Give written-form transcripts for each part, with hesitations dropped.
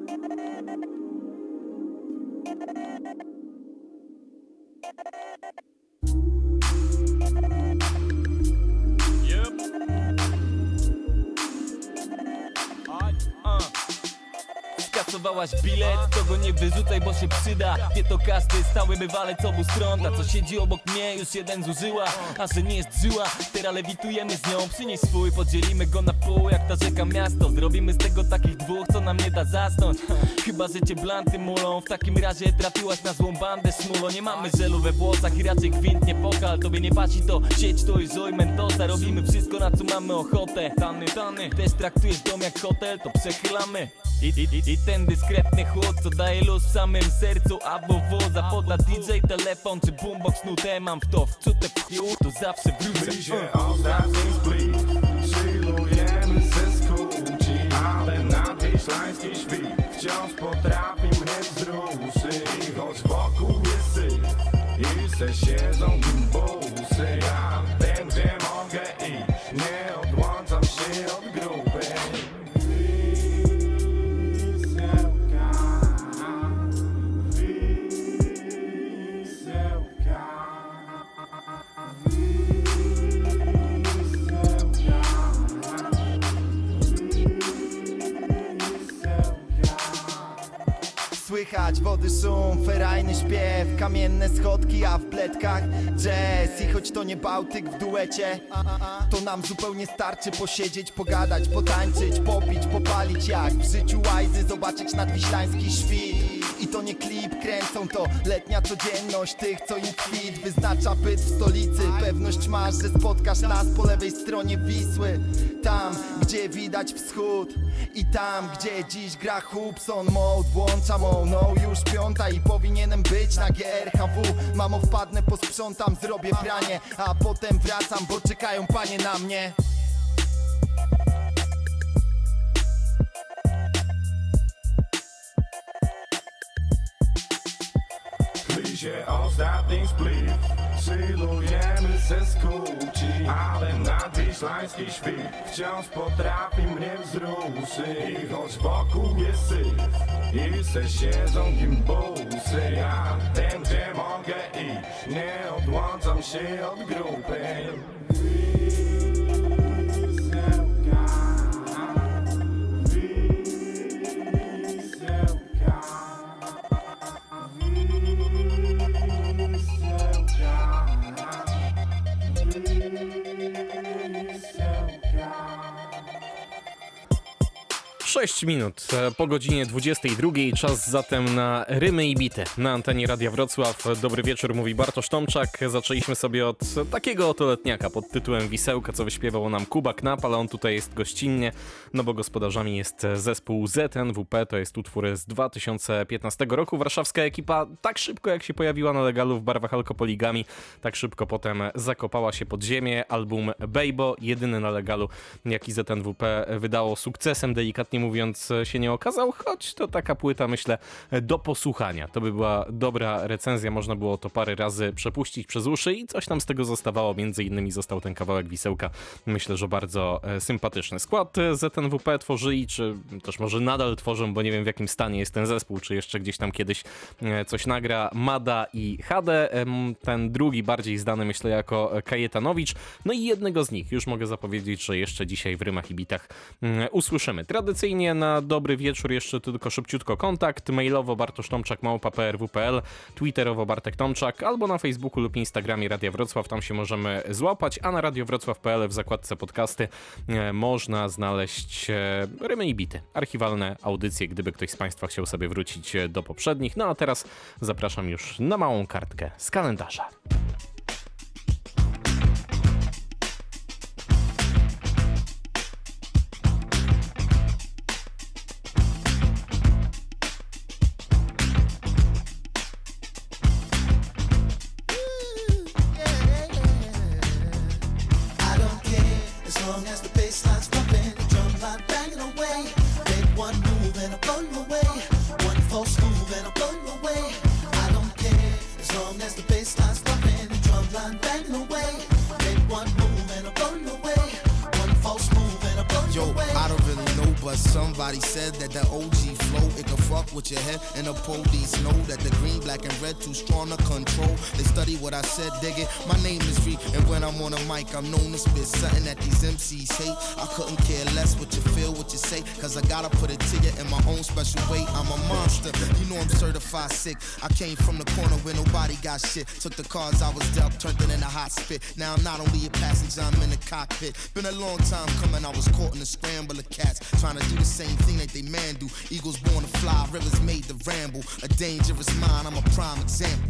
Skasowałaś bilet, to go nie wyrzucaj, bo się przyda. Wie to każdy stały bywalec obu stron. Ta co siedzi obok mnie już jeden zużyła, a że nie jest żyła, teraz lewitujemy z nią. Przynieś swój, podzielimy go na pół jak ta rzeka miasto. Zrobimy z tego takich dwóch, co nam nie da zasnąć. Chyba, że cię blanty mulą, w takim razie trafiłaś na złą bandę szmulo. Nie mamy żelu we włosach i raczej gwint nie pokal. Tobie nie pasi to, sieć to i żoj mentosa. Robimy wszystko, na co mamy ochotę. Tany, też traktujesz dom jak hotel, to przechylamy. I ten dyskretny chłód, co daje luz w samym sercu. A WW zapodla DJ, telefon czy boombox nutę. Mam w to wczute to zawsze wrócę. My się ostatni split chillujemy ze skóci, ale na tej szlańskiej świt wciąż potrafi mnie wzruszyć. Choć wokół jest syf i se siedzą gimbusy, ja wiem, gdzie mogę iść, nie odłączam się od grupy. Słychać wody szum, ferajny śpiew, kamienne schodki, a w pletkach jazz. I choć to nie Bałtyk w duecie, to nam zupełnie starczy posiedzieć, pogadać, potańczyć, popić, popalić jak w życiu łajzy, zobaczyć nadwiślański świt. I to nie klip, kręcą to letnia codzienność tych, co im kwit wyznacza byt w stolicy. Pewność masz, że spotkasz nas po lewej stronie Wisły, tam, gdzie widać wschód i tam, gdzie dziś gra Hubson Mode. Włączam no już piąta i powinienem być na GRHW. Mamo, wpadnę, posprzątam, zrobię pranie, a potem wracam, bo czekają panie na mnie. Się ostatni split chillujemy ze skóci, ale nadwiślański świt wciąż potrafi mnie wzruszyć. I choć wokół jest syf i se siedzą gimbusy, ja wiem, gdzie mogę iść, nie odłączam się od grupy. Sześć minut po godzinie 22, czas zatem na rymy i bity na antenie Radia Wrocław. Dobry wieczór, mówi Bartosz Tomczak. Zaczęliśmy sobie od takiego oto letniaka pod tytułem Wisełka, co wyśpiewał nam Kuba Knap, ale on tutaj jest gościnnie, no bo gospodarzami jest zespół ZNWP, to jest utwór z 2015 roku. Warszawska ekipa tak szybko jak się pojawiła na legalu w barwach Alkopoligami, tak szybko potem zakopała się pod ziemię. Album Bejbo, jedyny na legalu, jaki ZNWP wydało, sukcesem delikatnie mówiąc się nie okazał, choć to taka płyta, myślę, do posłuchania. To by była dobra recenzja, można było to parę razy przepuścić przez uszy i coś tam z tego zostawało, między innymi został ten kawałek Wisełka, myślę, że bardzo sympatyczny. Skład ZNWP tworzyli, czy też może nadal tworzą, bo nie wiem w jakim stanie jest ten zespół, czy jeszcze gdzieś tam kiedyś coś nagra, Mada i Hade, ten drugi bardziej znany, myślę, jako Kajetanowicz, no i jednego z nich już mogę zapowiedzieć, że jeszcze dzisiaj w rymach i bitach usłyszymy. Tradycyjnie na dobry wieczór jeszcze tylko szybciutko kontakt, mailowo bartosztomczak@prw.pl, twitterowo Bartek Tomczak, albo na Facebooku lub Instagramie Radia Wrocław, tam się możemy złapać, a na radiowrocław.pl w zakładce podcasty można znaleźć rymy i bity, archiwalne audycje, gdyby ktoś z Państwa chciał sobie wrócić do poprzednich. No a teraz zapraszam już na małą kartkę z kalendarza. Somebody said that the OG flow, it can fuck with your head. And the police know that the green, black, and red too strong to control. They study what I said, dig it. My name is Reek, and when I'm on a mic, I'm known to spit something that these MCs hate. I couldn't care less what you feel, what you say, cause I gotta put it to you in my own special way. I'm a monster, you know I'm certified sick. I came from the corner where nobody got shit. Took the cards I was dealt, turned it into hot spit. Now I'm not only a passenger, I'm in the cockpit. Been a long time coming, I was caught in a scramble of cats, trying to do the same thing that they man do. Eagles born to fly, rivers made to ramble. A dangerous mind, I'm a prime example.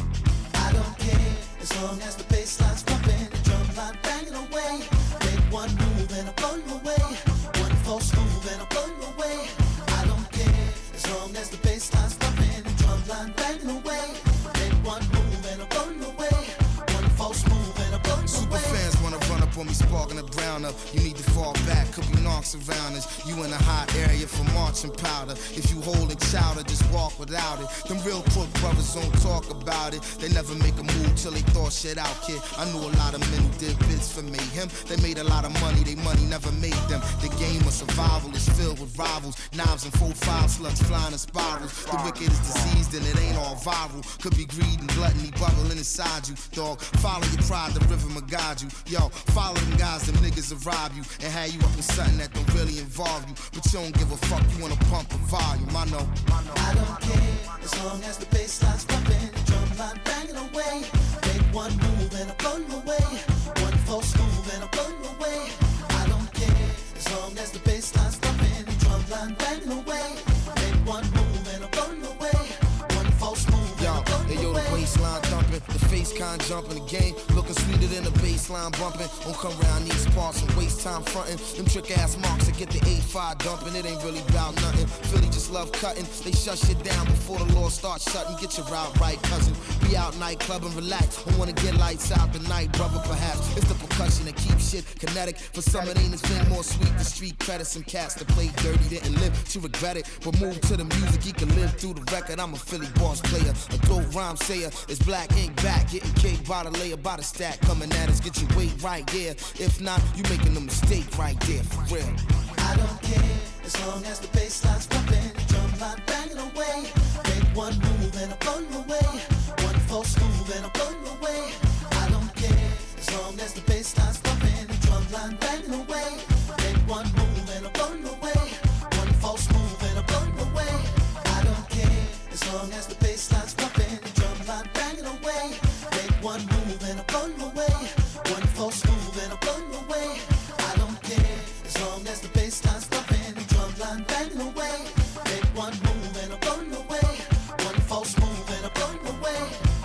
I don't care, as long as the bass line's pumping, the drum line banging away. Make one move and I'll blow you away. One false move and I'll blow you away. I don't care, as long as the bass line's pumping, the drum line banging away. Make one move and I'll blow you away. One false move and I'll blow you Super away. fans wanna run up on me, sparking the brown up. You need to fall back, could be knocks around us. You in a hot area for marching powder. If you holding chowder, just walk without it. Them real crook brothers don't talk about it. They never make a move till they thought shit out, kid. I knew a lot of men who did bits for mayhem. They made a lot of money, they money never made them. The game of survival is filled with rivals. Knives and 4-5 slugs flying in spirals. The wicked is diseased and it ain't all viral. Could be greed and gluttony bubbling inside you, dog. Follow your pride, the river will guide you. Yo, follow them guys, them niggas will rob you and have you up in something that don't really involve you. But you don't give a fuck, you wanna pump the volume, I know. I don't care, as long as the bass line's pumping, the drum line banging away. Make one move and I'll blow you away. One false move and I'll blow you away. I don't care, as long as the bass line's pumping, the drum line banging away. Make one move and I'll blow you away. One false move and I'll blow Hey you yo, the away. baseline thumping, the face con jumping, the game looking sweeter than the baseline bumping. Don't come around these parts and waste time fronting. Them trick ass marks that get the 8-5 dumping. It ain't really about nothing. Philly just love cutting. They shut shit down before the law starts shutting. Get your route right, cousin. Be out nightclub and relax. Don't wanna get lights out tonight, brother. Perhaps it's the percussion that keeps shit kinetic. For some it ain't a thing more sweet. The street credit some cats that play dirty didn't live to regret it. But move to the music, he can live through the record. I'm a Philly boss player, a dope rhyme sayer. It's black ink back, getting cake by the layer, by the stack. Coming at us, get your weight right, yeah. If not, you making a mistake right there, for real. I don't care, as long as the bass line's pumping, the drum line banging away. Make one move and I'll blow you away. One false move and I'll blow you away. I don't care, as long as the bass line's pumping, the drum line banging away. Make one move and I'll blow you away. One false move and I'll blow you away. I don't care, as long as the bass line's pumping, the drum line banging away. Make one move and I'll blow you away. One false move and I'll blow you away. I don't care, as long as the bass line's pumping, the drum line banging away. Make one move and I'll blow you away. One false move and I'll blow you away.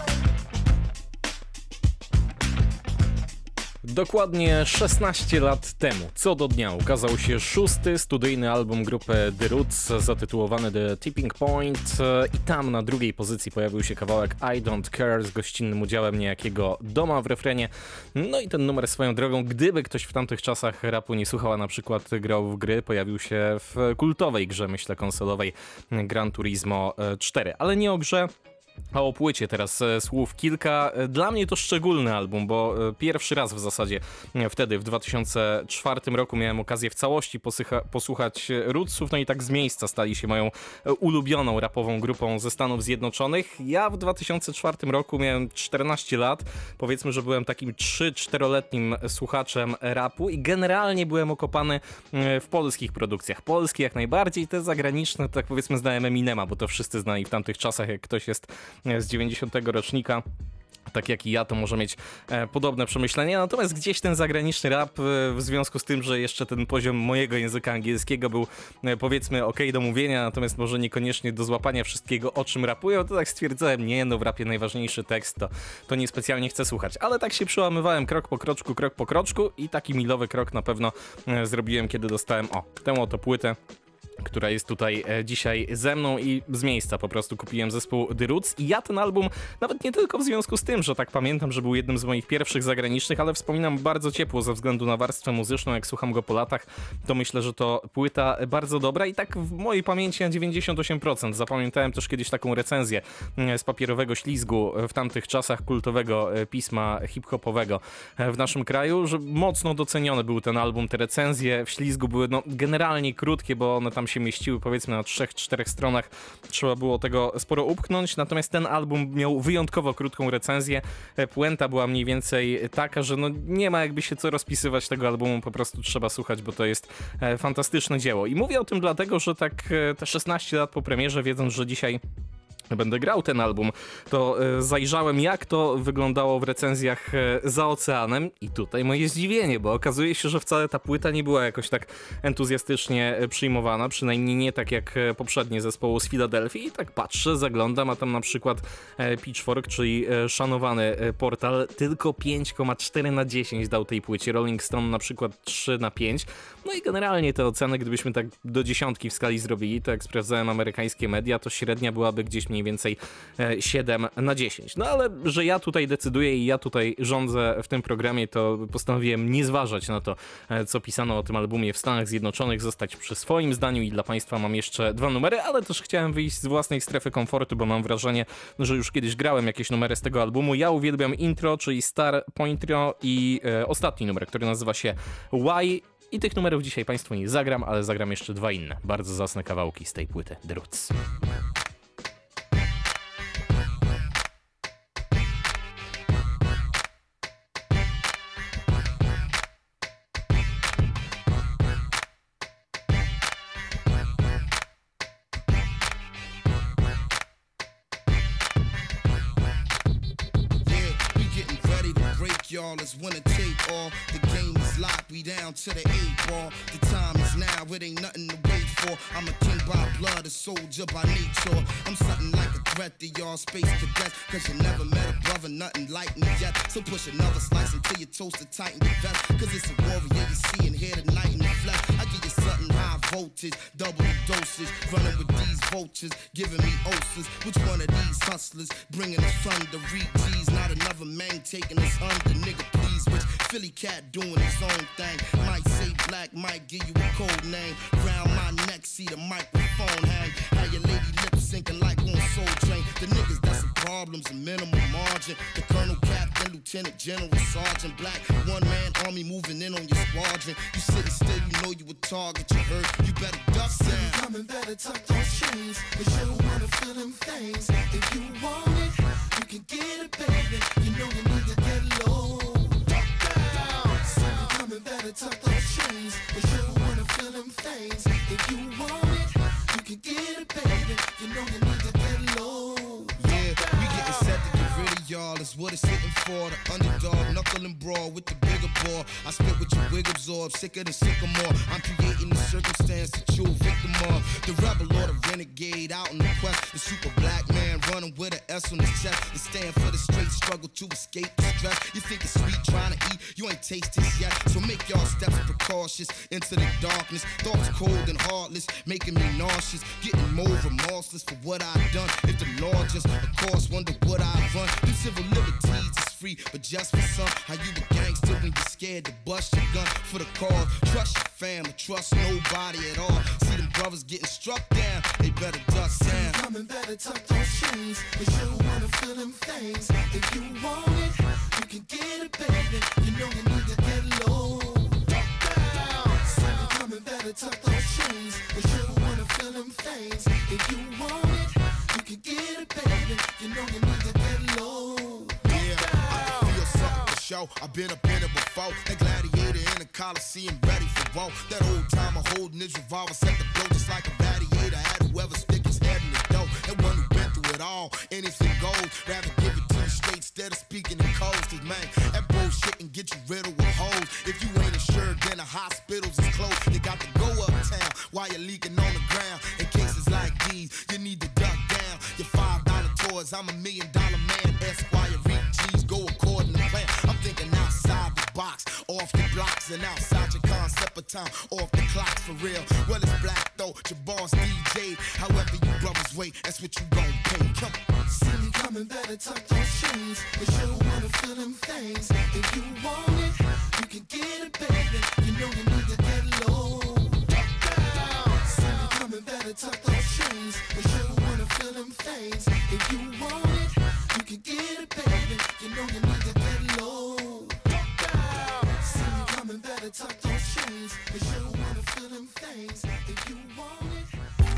Dokładnie 16 lat temu, co do dnia, ukazał się 6. studyjny album grupy The Roots zatytułowany The Tipping Point i tam na drugiej pozycji pojawił się kawałek I Don't Care z gościnnym udziałem niejakiego Doma w refrenie. No i ten numer swoją drogą, gdyby ktoś w tamtych czasach rapu nie słuchał, a na przykład grał w gry, pojawił się w kultowej grze, myślę, konsolowej Gran Turismo 4, ale nie o grze. A o płycie teraz słów kilka. Dla mnie to szczególny album, bo pierwszy raz w zasadzie wtedy, w 2004 roku miałem okazję w całości posłuchać Rootsów, no i tak z miejsca stali się moją ulubioną rapową grupą ze Stanów Zjednoczonych. Ja w 2004 roku miałem 14 lat, powiedzmy, że byłem takim 3-4-letnim słuchaczem rapu i generalnie byłem okopany w polskich produkcjach. Polskie jak najbardziej, te zagraniczne, tak powiedzmy, znałem Eminema, bo to wszyscy znali w tamtych czasach, jak ktoś jest z 90 rocznika, tak jak i ja, to może mieć podobne przemyślenia, natomiast gdzieś ten zagraniczny rap, w związku z tym, że jeszcze ten poziom mojego języka angielskiego był, powiedzmy, okej do mówienia, natomiast może niekoniecznie do złapania wszystkiego, o czym rapują, to tak stwierdzałem, nie, no w rapie najważniejszy tekst, to niespecjalnie chcę słuchać, ale tak się przełamywałem krok po kroczku i taki milowy krok na pewno zrobiłem, kiedy dostałem, tę oto płytę, która jest tutaj dzisiaj ze mną i z miejsca po prostu kupiłem zespół The Roots i ja ten album, nawet nie tylko w związku z tym, że tak pamiętam, że był jednym z moich pierwszych zagranicznych, ale wspominam bardzo ciepło ze względu na warstwę muzyczną, jak słucham go po latach, to myślę, że to płyta bardzo dobra i tak w mojej pamięci na 98%. Zapamiętałem też kiedyś taką recenzję z papierowego ślizgu w tamtych czasach kultowego pisma hip-hopowego w naszym kraju, że mocno doceniony był ten album, te recenzje w ślizgu były generalnie krótkie, bo one tam się mieściły powiedzmy na 3-4 stronach, trzeba było tego sporo upchnąć, natomiast ten album miał wyjątkowo krótką recenzję. Puenta była mniej więcej taka, że no nie ma jakby się co rozpisywać tego albumu, po prostu trzeba słuchać, bo to jest fantastyczne dzieło. I mówię o tym dlatego, że tak te 16 lat po premierze, wiedząc, że dzisiaj będę grał ten album, to zajrzałem, jak to wyglądało w recenzjach za oceanem i tutaj moje zdziwienie, bo okazuje się, że wcale ta płyta nie była jakoś tak entuzjastycznie przyjmowana, przynajmniej nie tak jak poprzednie zespołu z Filadelfii. I tak patrzę, zaglądam, a tam na przykład Pitchfork, czyli szanowany portal, tylko 5,4 na 10 dał tej płycie, Rolling Stone na przykład 3 na 5. No i generalnie te oceny, gdybyśmy tak do 10 w skali zrobili, to jak sprawdzałem amerykańskie media, to średnia byłaby gdzieś mniej więcej 7 na 10. No ale, że ja tutaj decyduję i ja tutaj rządzę w tym programie, to postanowiłem nie zważać na to, co pisano o tym albumie w Stanach Zjednoczonych, zostać przy swoim zdaniu i dla Państwa mam jeszcze 2 numery, ale też chciałem wyjść z własnej strefy komfortu, bo mam wrażenie, że już kiedyś grałem jakieś numery z tego albumu. Ja uwielbiam intro, czyli Star Pointro i ostatni numer, który nazywa się Why. I tych numerów dzisiaj Państwu nie zagram, ale zagram jeszcze 2 inne, bardzo zacne kawałki z tej płyty The Roots. Y'all, it's winner take all. The game is locked, we down to the 8 ball. The time is now, it ain't nothing to wait for. I'm a king by blood, a soldier by nature. I'm something like a threat to y'all space cadets, cause you never met a brother, nothing like me yet. So push another slice until your toast to tighten your vest, cause it's a warrior you see and hear tonight in the flesh. I give you something high voltage, double the dosage. Running with these vultures, giving me ulcers. Which one of these hustlers bringing us thunder? Read G's, not another man taking us under. Nigga, please, which Philly cat doing his own thing. Might say black, might give you a code name. Round my neck, see the microphone hang. How your lady lip syncing like on Soul Train. The niggas that's some problems, a minimal margin. The colonel, captain, lieutenant, general, sergeant, black. One man army moving in on your squadron. You sitting still, you know you a target, you hurt. You better duck down. Coming better tuck those chains, cause you don't wanna feel them things. If you want it, you can get it, baby. You know you need to get low. Coming better tuck those chains, cause you don't wanna feel them things. If you want it, you can get it, baby. You know you need to get low. Yeah, we getting set to get rid of y'all, that's what it's hitting for. The underdog, knuckle and brawl with the bigger ball. I spit with your wig absorb, sicker than sycamore. I'm creating the circumstance that you're a victim of. The rebel or the renegade out in the quest. The super black man running with an S on his chest. It stand for the straight struggle to escape the stress. You think it's sweet trying to eat, you ain't tasted this yet. So make y'all steps precautious into the darkness. Thoughts cold and heartless, making me nauseous. Getting more remorseless for what I've done. If the law just, of course, wonder what I've run. Them civil liberties is free, but just for some. How you a gangster when you're scared to bust your gun for the cause. Trust your family, trust nobody at all. See them brothers getting struck down, they better duck down. Coming better tuck those chains, cause you don't wanna feel them things. If you want it, you can get it, baby. You know you need to get low. Coming better tuck those chains, cause you don't wanna feel them things. If you want it, you can get it, baby. You know you need to get low. Yeah, I can feel something for sure. I've been up in it before. That gladiator in the Coliseum, ready for war. That old timer holding his revolver, set the blow just like a gladiator. Had whoever stick his head in the dough. That one who been through it all, anything goes. Rather give it to you straight instead of speaking in codes. Cause man, that bullshit can get you riddled with hoes. If you ain't insured, then the hospitals is closed. You got to go uptown while you're leaking on the ground. In cases like these, you need to duck down. Your $5 toys, I'm $1 million man. Esquire, read G's, go according to plan. I'm thinking outside the box, off the blocks and outside your concept of time, off the clock for real. Well, it's black though, your boss DJ. However you brothers wait, that's what you gon' pay. Come on. See me coming better tuck those chains, cause you don't wanna feel them things. If you want it, you can get it, baby. You know you need to get low. See me coming better tuck those chains, cause you don't wanna feel them things. If you want it, you can get it, baby. You know you need to get low. See me coming better tuck those chains, cause you don't wanna feel them things if you want it.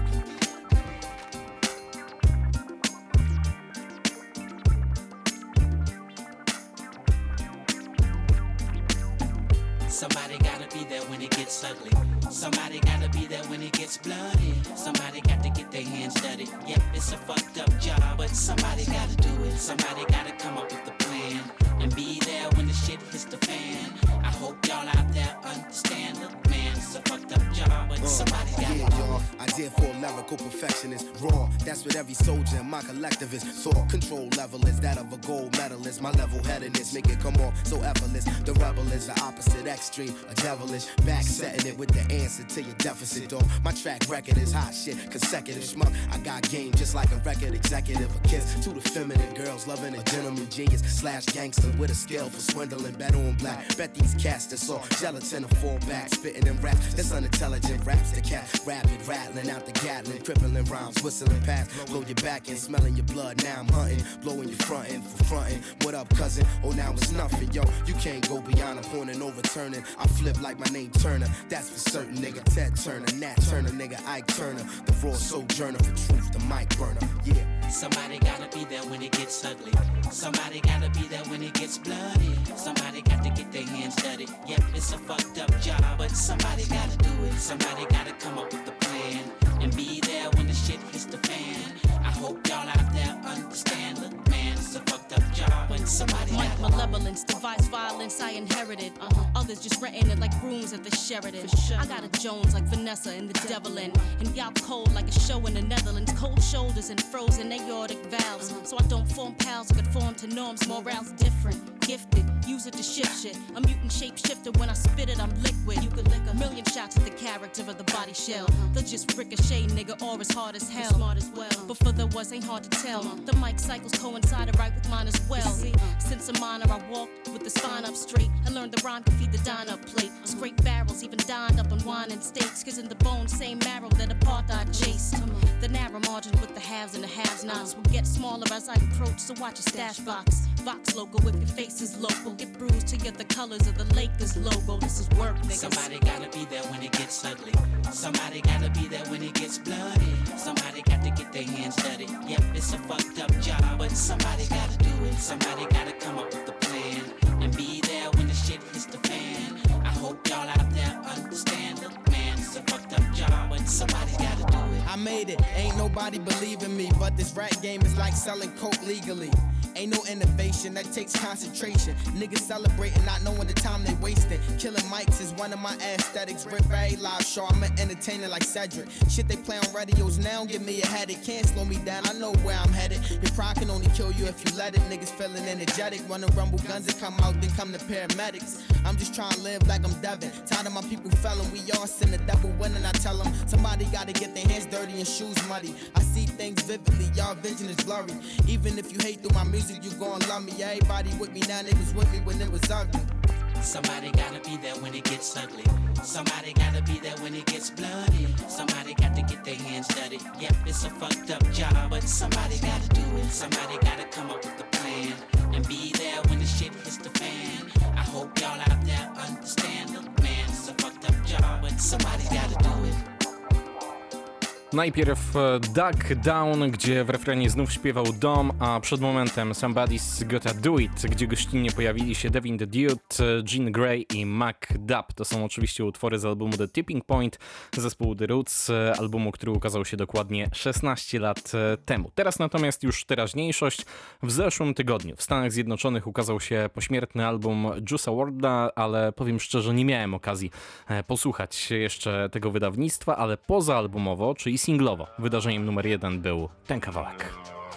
Somebody gotta be there when it gets ugly. Somebody gotta be there when it gets bloody. Somebody got to get their hands dirty. Yep, it's a fucked up job, but somebody gotta do it. Somebody gotta come up with a plan and be there when the shit hits the fan. I hope y'all out there understand. Look, man, it's a fucked up job, but somebody gotta do it. Y'all, I did for a lyrical perfectionist. Raw, that's what every soldier in my collectivist thought. Control level is that of a gold medalist. My level-headedness make it come off so effortless. The rebel is the opposite extreme, a devilish. Back setting it with the answer to your deficit, dog. My track record is hot shit, consecutive schmuck. I got game just like a record executive. A kiss to the feminine girls, loving a gentleman genius slash gangster with a skill for swindling. Bet on black, bet these cats that's all gelatin and fall back, spitting in rap. That's unintelligent raps. The cat rapid rattling out the Gatlin, crippling rhymes, whistling past. Blow your back and smelling your blood. Now I'm hunting, blowing your frontin' for frontin'. What up, cousin? Oh, now it's nothing, yo. You can't go beyond a point and overturning. I flip like my name Turner. That's for certain, nigga. Ted Turner, Nat Turner, nigga. Ike Turner. The raw sojourner for truth, the mic burner. Yeah. Somebody gotta be there when it gets ugly. Somebody gotta be there when it gets bloody. Somebody got to get their hands dirty. Yep, it's a fucked up job, but somebody gotta do it. Somebody gotta come up with a plan and be there when the shit hits the fan. I hope y'all out there understand. Look, man, it's a fucked up job, but somebody Mike gotta malevolence, device violence I inherited. Others just renting it like rooms at the Sheridan. I got a Jones like Vanessa and the Devil in. And y'all cold like a show in the Netherlands. Cold shoulders and frozen aortic valves. So I don't form pals or conform to norms. Morale's different, gifted, use it to shift shit. A mutant shapeshifter, when I spit it, I'm liquid. You could lick a million shots at the character of the body shell. They'll just ricochet, nigga, or as hard as hell. Smart as well, but for the was ain't hard to tell. The mic cycles coincided right with mine as well. Since a minor, I walked with the spine up straight. I learned the rhyme could feed the dine-up plate. Scrape barrels, even dined up on wine and steaks. Cause in the bone, same marrow that apartheid chased. The narrow margin with the haves and the have-nots will get smaller as I approach, so watch your stash box. Vox local if your face is local. Get bruised to get the colors of the Lakers logo. This is work, niggas. Somebody gotta be there when it gets ugly. Somebody gotta be there when it gets bloody. Somebody got to get their hands dirty. Yep, it's a fucked up job, but somebody gotta do it. Somebody gotta come up with a plan and be there when the shit hits the fan. I hope y'all out there understand. Look, man, it's a fucked up job, but somebody gotta do it. I made it, ain't nobody believing me, but this rap game is like selling coke legally. Ain't no innovation, that takes concentration. Niggas celebrating, not knowing the time they wasting. Killing mics is one of my aesthetics. Rip very live show, I'm an entertainer like Cedric. Shit they play on radios now, give me a headache. Can't slow me down, I know where I'm headed. Your pride can only kill you if you let it. Niggas feeling energetic, wanna rumble guns and come out, then come the paramedics. I'm just trying to live like I'm Devin. Tired of my people felling, we all sin, the devil winning. I tell them, somebody gotta get their hands dirty and shoes muddy. I see things vividly, y'all vision is blurry. Even if you hate through my music, you gon' love me. Everybody with me now, they was with me when it was ugly. Somebody gotta be there when it gets ugly. Somebody gotta be there when it gets bloody. Somebody got to get their hands dirty. Yep, it's a fucked up job, but somebody gotta do it. Somebody gotta come up with a plan and be there when the shit hits the fan. I hope y'all out there understand. Look, man, it's a fucked up job, but somebody gotta do it. Najpierw Duck Down, gdzie w refrenie znów śpiewał Dom, a przed momentem Somebody's Gotta Do It, gdzie gościnnie pojawili się Devin the Dude, Jean Grey i Mac Dub. To są oczywiście utwory z albumu The Tipping Point, zespołu The Roots, albumu, który ukazał się dokładnie 16 lat temu. Teraz natomiast już teraźniejszość. W zeszłym tygodniu w Stanach Zjednoczonych ukazał się pośmiertny album Juice WRLD'a, ale powiem szczerze, nie miałem okazji posłuchać jeszcze tego wydawnictwa, ale pozaalbumowo, czyli singlowo, wydarzeniem numer 1 był ten kawałek.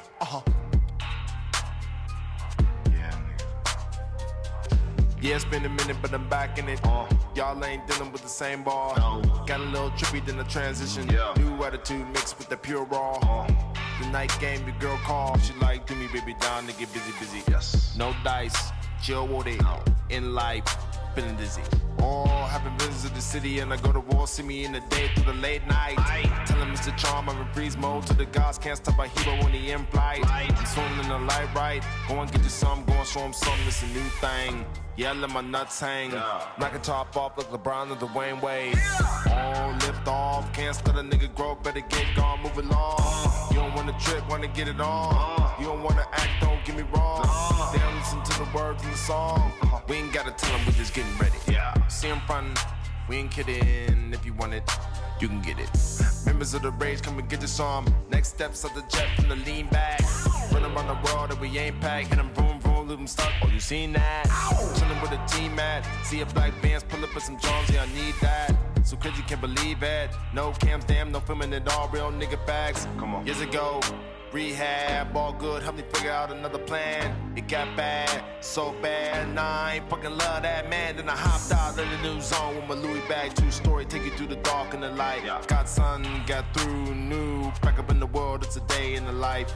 Yeah, it's been a minute, but I'm back in it. Y'all ain't dealing with the same ball. Got a little trippy than the transition. New attitude mixed with the pure raw. The night game, your girl called. She like, do me, baby, down to get busy. Yes. No dice, chill with it. In life, feeling dizzy. Oh, haven't visited the city and I go to war, see me in the day through the late night. Tell him Mr. Charm, I'm in freeze mode. To the gods, can't stop a hero when he in flight. I'm swimming in the light right. Go and get you some, go and show him something, it's a new thing. Yeah, I let my nuts hang. Knock a top off like LeBron or Dwayne Wade. Oh, lift off, can't let a nigga grow, better get gone, move along. You don't wanna trip, wanna get it on. You don't wanna act, don't get me wrong. They don't listen to the words in the song. We ain't gotta tell them, we're just getting ready. See him frontin', we ain't kidding. If you want it, you can get it. Members of the rage, come and get this on. Next steps of the jet from the lean back. Run around the world and we ain't packed. Hit them vroom vroom, leave them stuck. Oh, you seen that? Chillin' with a team at. See a black Vans, pull up with some Jones, yeah, I need that. So crazy, can't believe it. No cams, damn, no filming at all. Real nigga facts. Come on. Years ago, rehab, all good, help me figure out another plan. It got bad, so bad, nah, I ain't fucking love that man. Then I hopped out in the new zone with my Louis bag, 2-story, take you through the dark and the light. Got sun, got through, new, back up in the world, it's a day in the life.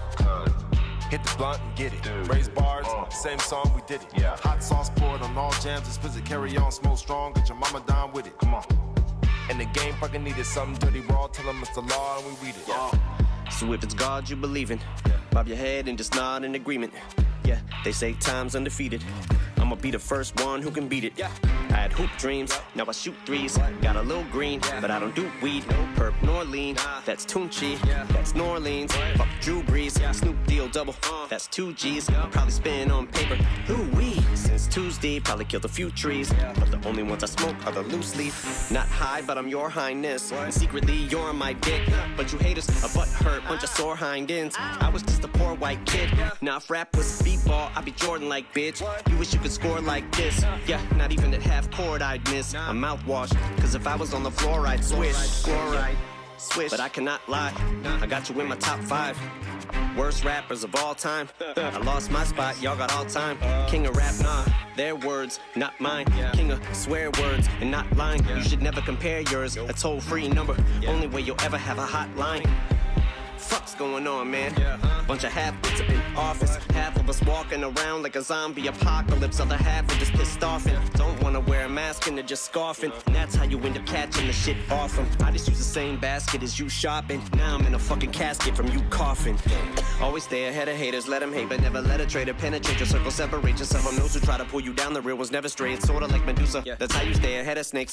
Hit the blunt and get it. Raise bars, same song, we did it. Hot sauce poured on all jams, explicit, carry on, smoke strong, get your mama down with it. Come on. And the game fucking needed something dirty raw, tell them it's the law and we read it. So if it's God you believe in, bob your head and just nod in agreement. Yeah, they say time's undefeated. I'ma be the first one who can beat it. I had hoop dreams, now I shoot threes. Got a little green, but I don't do weed. No perp nor lean, that's Tunchi. That's New Orleans, fuck Drew Brees. Snoop Deal double, that's 2 G's. Probably spin on paper, ooh-wee. Since Tuesday, probably killed a few trees. But the only ones I smoke are the loose leaf. Not high, but I'm your highness. And secretly, you're on my dick. But you haters, a butt hurt, bunch of sore hind ends. I was just a poor white kid. Now if rap was b-ball, I'd be Jordan like bitch. You wish you could score like this. Yeah, not even at half court I'd miss a mouthwash. Cause if I was on the floor I'd swish. Fluoride, swish. But I cannot lie, I got you in my top 5 worst rappers of all time. I lost my spot, y'all got all time. King of rap, nah, their words, not mine. King of swear words and not lying. You should never compare yours, a toll-free number. Only way you'll ever have a hotline. Fuck's going on, man? Bunch of half-wits up in office. Half of us walking around like a zombie apocalypse. Other half are just pissed off and don't wanna wear a mask and they're just scoffing. And that's how you end up catching the shit off them. I just use the same basket as you shopping. Now I'm in a fucking casket from you coughing. Always stay ahead of haters, let them hate, but never let a traitor penetrate your circle. Separate yourself from those who try to pull you down. The real was never straight, it's sorta like Medusa. That's how you stay ahead of snakes.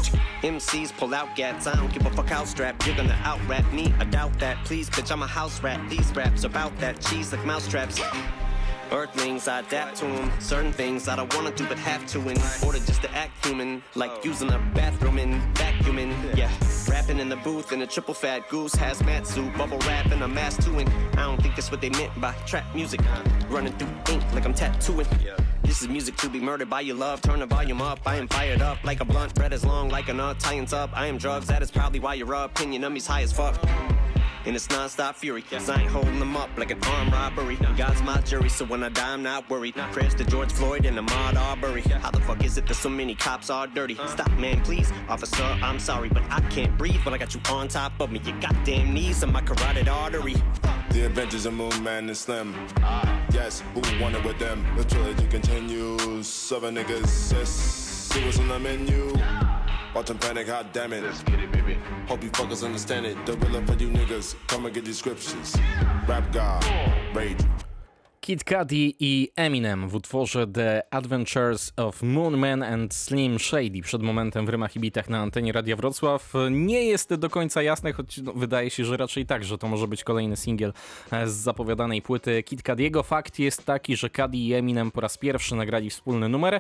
MCs pull out gats, I don't give a fuck how strapped. You're gonna out-rap me, I doubt that. Please, bitch, I'm a house rat. These raps about that cheese like mousetraps. Earthlings, I adapt to them. Certain things I don't wanna do but have to in order just to act human. Like using a bathroom and vacuuming. Yeah, rapping in the booth in a triple fat goose hazmat suit. Bubble wrap and a mask too. And I don't think that's what they meant by trap music. Running through ink like I'm tattooing. This is music to be murdered by your love. Turn the volume up, I am fired up like a blunt. Bread as long like a nut, tie-ins up. I am drugs, that is probably why your opinion of me's high as fuck. And it's non-stop fury, cause I ain't holding them up like an armed robbery. God's my jury, so when I die I'm not worried. Prayers to George Floyd and Ahmaud Arbery. How the fuck is it that so many cops are dirty? Stop, man, please. Officer, I'm sorry, but I can't breathe when I got you on top of me. Your goddamn knees and my carotid artery. The Adventures of Moon Man and Slim. Yes, who wanted with them? The trilogy continues. 7 niggas, yes, see what's on the menu. Watch them panic, hot damn it. Let's get it, baby. Hope you fuckers understand it. The real for you niggas, come and get these scriptures. Rap God, rage. Kid Cudi i Eminem w utworze The Adventures of Moon Man and Slim Shady przed momentem w Rymach i Bitach na antenie Radia Wrocław. Nie jest do końca jasne, choć wydaje się, że raczej tak, że to może być kolejny singiel z zapowiadanej płyty Kid Cudiego. Fakt jest taki, że Cudi i Eminem po raz pierwszy nagrali wspólny numer.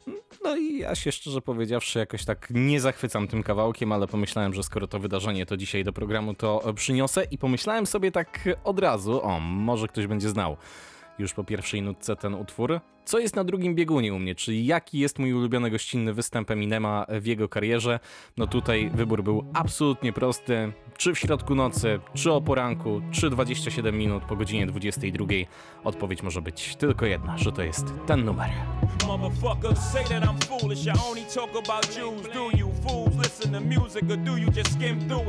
No i ja się szczerze powiedziawszy jakoś tak nie zachwycam tym kawałkiem, ale pomyślałem, że skoro to wydarzenie to dzisiaj do programu to przyniosę i pomyślałem sobie tak od razu, może ktoś będzie znał już po pierwszej nutce ten utwór. Co jest na drugim biegunie u mnie, czyli jaki jest mój ulubiony gościnny występ Eminema w jego karierze? No tutaj wybór był absolutnie prosty. Czy w środku nocy, czy o poranku, czy 27 minut po godzinie 22. Odpowiedź może być tylko jedna, że to jest ten numer. Motherfuckers say that I'm foolish. I only talk about Jews. Do you fools listen to music or do you just skim through it?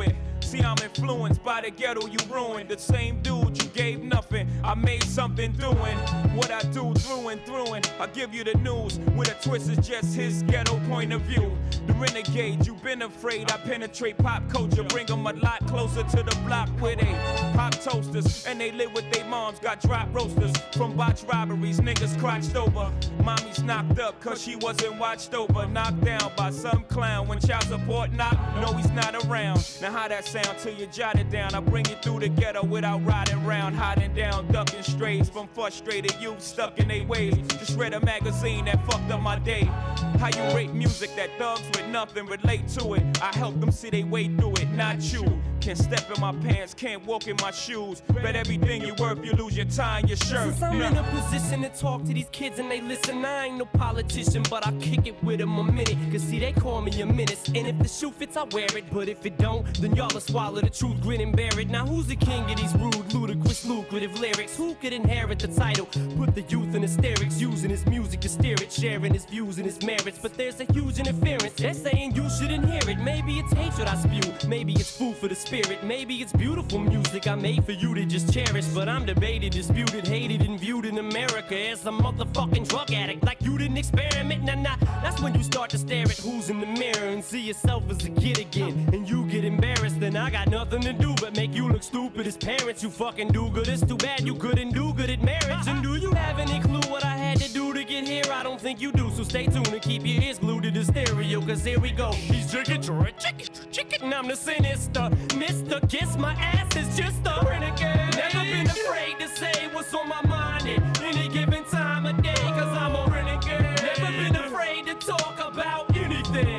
See, I'm influenced by the ghetto you ruined. The same dude you gave nothing, I made something doing what I do through and through. And I give you the news with a twist is just his ghetto point of view. The renegade, you've been afraid. I penetrate pop culture, bring them a lot closer to the block where they pop toasters and they live with their moms. Got drop roasters from botched robberies, niggas crotched over. Mommy's knocked up cause she wasn't watched over. Knocked down by some clown when child support knock. No, he's not around. Now how that sound till you jot it down? I bring it through the ghetto without riding round, hiding down, ducking strays from frustrated youth stuck in their ways. Just read a magazine that fucked up my day. How you rate music that thugs with nothing relate to it? I help them see they way through it, not you. Can't step in my pants, can't walk in my shoes. Bet everything you worth, you lose your tie and your shirt. Since I'm in a position to talk to these kids and they listen, I ain't no politician, but I kick it with them a minute. Cause see, they call me a menace, and if the shoe fits, I wear it. But if it don't, then y'all will swallow the truth, grin and bear it. Now who's the king of these rude, ludicrous, lucrative lyrics? Who could inherit the title? Put the youth in hysterics, using his music to steer it, sharing his views and his merits. But there's a huge interference, they're saying you shouldn't hear it. Maybe it's hatred I spew, maybe it's food for the spirit, maybe it's beautiful music I made for you to just cherish. But I'm debated, disputed, hated, and viewed in America as a motherfucking drug addict. Like you didn't experiment, nah. That's when you start to stare at who's in the mirror and see yourself as a kid again. And you get embarrassed, then I got nothing to do but make you look stupid as parents. You fucking do good, it's too bad you couldn't do good at marriage. And do you have any clue what I had to do to get here? I don't think you do, so stay tuned and keep your ears glued to the stereo. Cause here we go, he's chicken, and I'm the sinister Mr. Kiss my ass is just a renegade. Never been afraid to say what's on my mind at any given time of day. Cause I'm a renegade. Never been afraid to talk about anything.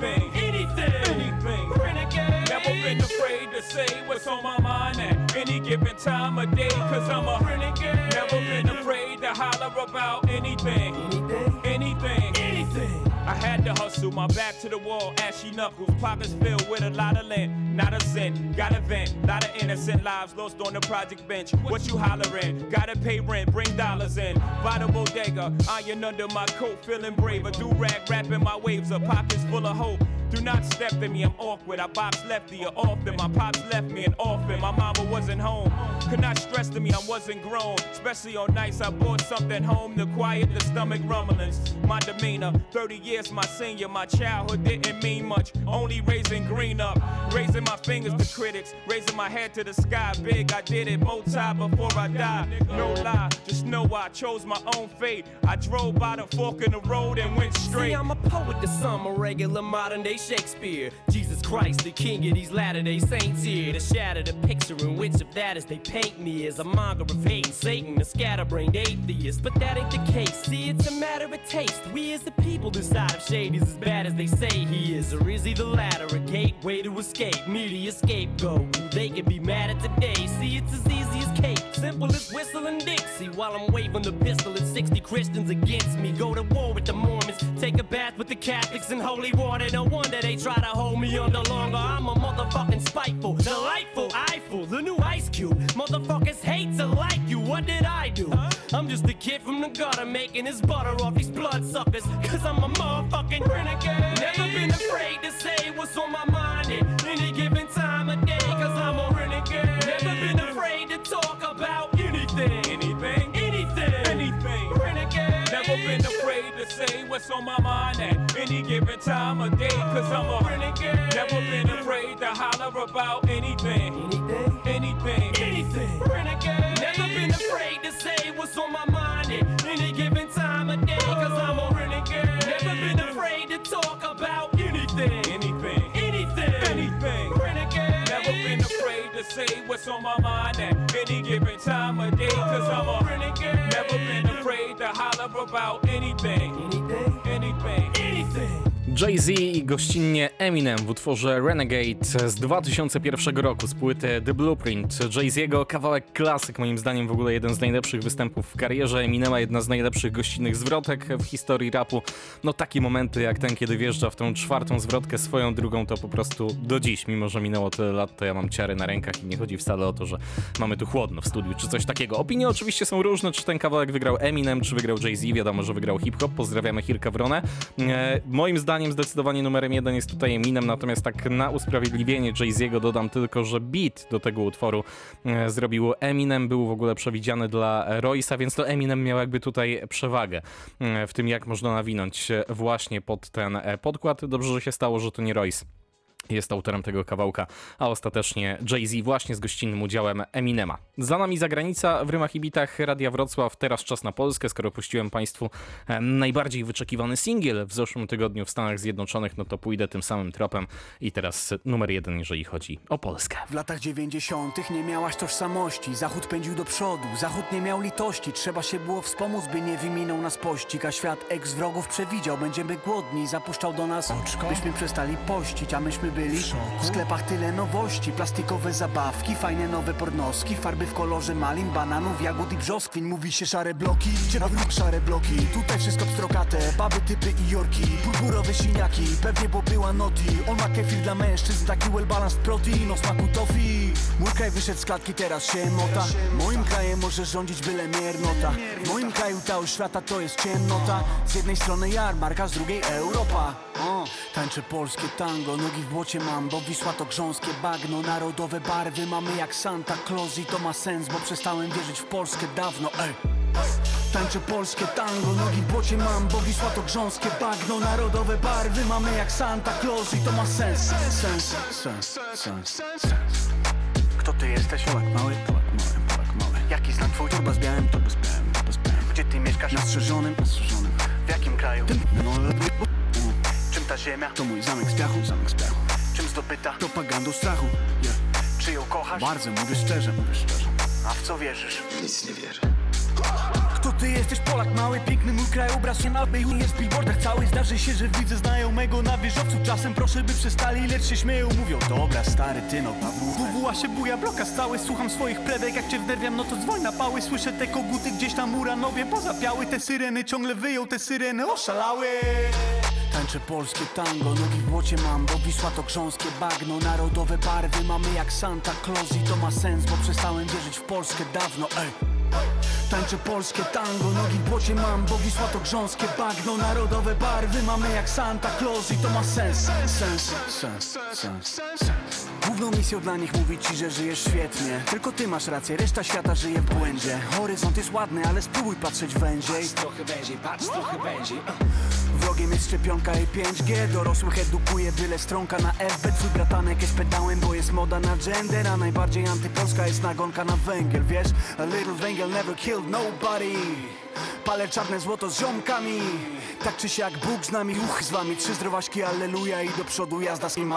Renegade. Never been afraid to say what's on my mind at any given time of day. Cause I'm a renegade. Never been afraid to holler about anything. I had to hustle, my back to the wall, ashy knuckles, pockets filled with a lot of lint, not a cent, got a vent, lot of innocent lives lost on the project bench. What you hollering? Gotta pay rent, bring dollars in. By the bodega, iron under my coat, feeling brave. A do-rag wrapping my waves, a pockets full of hope. Do not step to me, I'm awkward. I box lefty or often. My pops left me an orphan. My mama wasn't home. Could not stress to me, I wasn't grown. Especially on nights I brought something home to quiet the stomach rumblings. My demeanor, 30 years my senior. My childhood didn't mean much. Only raising green up. Raising my fingers to critics. Raising my head to the sky. Big, I did it multi before I died. No lie, just know I chose my own fate. I drove by the fork in the road and went straight. See, I'm a poet to some, a regular modern day Shakespeare. Jesus Christ, the king of these Latter-day Saints here, to shatter the picture in which of that as they paint me as a monger of hate and Satan, a scatterbrained atheist. But that ain't the case. See, it's a matter of taste. We as the people decide if Shady's as bad as they say he is, or is he the latter, a gateway to escape, media scapegoat. They can be mad at today. See, it's as easy as cake, simple as whistling Dixie, while I'm waving the pistol at 60 Christians against me. Go to war with the Mormons, take a bath with the Catholics in holy water. No wonder they try to hold me under longer. I'm a motherfucking spiteful, delightful, eyeful, the new Ice Cube. Motherfuckers hate to like you, what did I do? I'm just a kid from the gutter making his butter off these bloodsuckers. Cause I'm a motherfucking renegade. Never been afraid to say what's on my mind at any given time of day. Cause I'm a renegade. Never been afraid to talk about anything. Renegade. Never been afraid to say what's on my mind at any given time of day. Cause I'm a renegade. Never been afraid to holler about anything. Renegade. Never been afraid to say what's on my mind at any given time of day. Cause I'm a renegade. Never been afraid to talk about anything. Renegade. Never been afraid to say what's on my mind at any given time of day. Cause I'm a renegade. Never been afraid to holler about anything. Jay-Z i gościnnie Eminem w utworze Renegade z 2001 roku z płyty The Blueprint. Jay-Z'ego kawałek klasyk, moim zdaniem w ogóle jeden z najlepszych występów w karierze. Eminema jedna z najlepszych gościnnych zwrotek w historii rapu. No takie momenty jak ten, kiedy wjeżdża w tą czwartą zwrotkę swoją drugą, to po prostu do dziś, mimo że minęło tyle lat, to ja mam ciary na rękach i nie chodzi wcale o to, że mamy tu chłodno w studiu czy coś takiego. Opinie oczywiście są różne, czy ten kawałek wygrał Eminem, czy wygrał Jay-Z. Wiadomo, że wygrał hip-hop. Pozdrawiamy Hirka Wronę. Moim zdaniem zdaniem zdecydowanie numerem 1 jest tutaj Eminem, natomiast tak na usprawiedliwienie Jay-Z'ego dodam tylko, że beat do tego utworu zrobił Eminem, był w ogóle przewidziany dla Royce'a, więc to Eminem miał jakby tutaj przewagę w tym, jak można nawinąć właśnie pod ten podkład. Dobrze, że się stało, że to nie Royce jest autorem tego kawałka, a ostatecznie Jay-Z właśnie z gościnnym udziałem Eminema. Za nami zagranica w rymach i bitach Radia Wrocław. Teraz czas na Polskę. Skoro puściłem Państwu najbardziej wyczekiwany singiel w zeszłym tygodniu w Stanach Zjednoczonych, no to pójdę tym samym tropem i teraz numer 1, jeżeli chodzi o Polskę. W latach 90. nie miałaś tożsamości. Zachód pędził do przodu, Zachód nie miał litości. Trzeba się było wspomóc, by nie wyminął nas pościg. A świat ex-wrogów przewidział, będziemy głodni. Zapuszczał do nas oczko, byśmy przestali pościć, a myśmy byli w sklepach tyle nowości, plastikowe zabawki, fajne nowe pornoski, farby w kolorze malin, bananów, jagód i brzoskwin. Mówi się szare bloki, szare bloki. Tutaj wszystko pstrokate, baby, typy i jorki, purpurowe siniaki, pewnie bo była noti. On ma kefir dla mężczyzn, taki well balanced protein o smaku tofi. Mój kraj wyszedł z klatki, teraz się mota. Moim krajem może rządzić byle miernota. W moim kraju ta świata to jest ciemnota. Z jednej strony jarmarka, z drugiej Europa. Tańczę polskie tango, nogi w błocie mam, bo Wisła to grząskie bagno. Narodowe barwy mamy jak Santa Claus i to ma sens, bo przestałem wierzyć w Polskę dawno, ej. Tańczę polskie tango, nogi w błocie mam, bo Wisła to grząskie bagno. Narodowe barwy mamy jak Santa Claus i to ma sens. Sens. Kto ty jesteś? Polak mały. Jaki znak twój? Torba z białym. Gdzie ty mieszkasz? Na strzeżonym. W jakim kraju? Czym ta ziemia? To mój zamek z piachu. Czym zdobyta? Propagandą strachu. Czy ją kochasz? Bardzo, mówię szczerze. A w co wierzysz? Nic nie wierzę. Kto ty jesteś? Polak mały, piękny mój krajobraz się nabył. Jest w billboardach cały. Zdarzy się, że widzę znajomego na wieżowcu. Czasem proszę, by przestali, lecz się śmieją. Mówią, dobra stary, ty no WWA się buja, bloka stały. Słucham swoich plebek, jak cię wnerwiam, no to dzwoń na pały. Słyszę te koguty gdzieś tam Uranowie pozapiały. Te syreny ciągle wyją, te syreny oszalały. Tańczę polskie tango, nogi w błocie mam, bo Wisła to grząskie bagno. Narodowe barwy mamy jak Santa Claus i to ma sens, bo przestałem wierzyć w Polskę dawno, ej. Tańczę polskie tango, nogi w błocie mam, bo Wisła to grząskie bagno. Narodowe barwy mamy jak Santa Claus i to ma sens. Główną misją dla nich mówić ci, że żyjesz świetnie. Tylko ty masz rację, reszta świata żyje w błędzie. Horyzont jest ładny, ale spróbuj patrzeć węziej. Patrz trochę węziej. Wrogiem jest szczepionka i 5G. Dorosłych edukuje byle stronka na FB. Twój bratanek jest pedałem, bo jest moda na gender. A najbardziej antypolska jest nagonka na węgiel, wiesz? A little węgiel never killed nobody. Palę czarne złoto z ziomkami. Tak czy siak Bóg z nami, z wami. 3 zdrowaśki, alleluja i do przodu jazda z nim.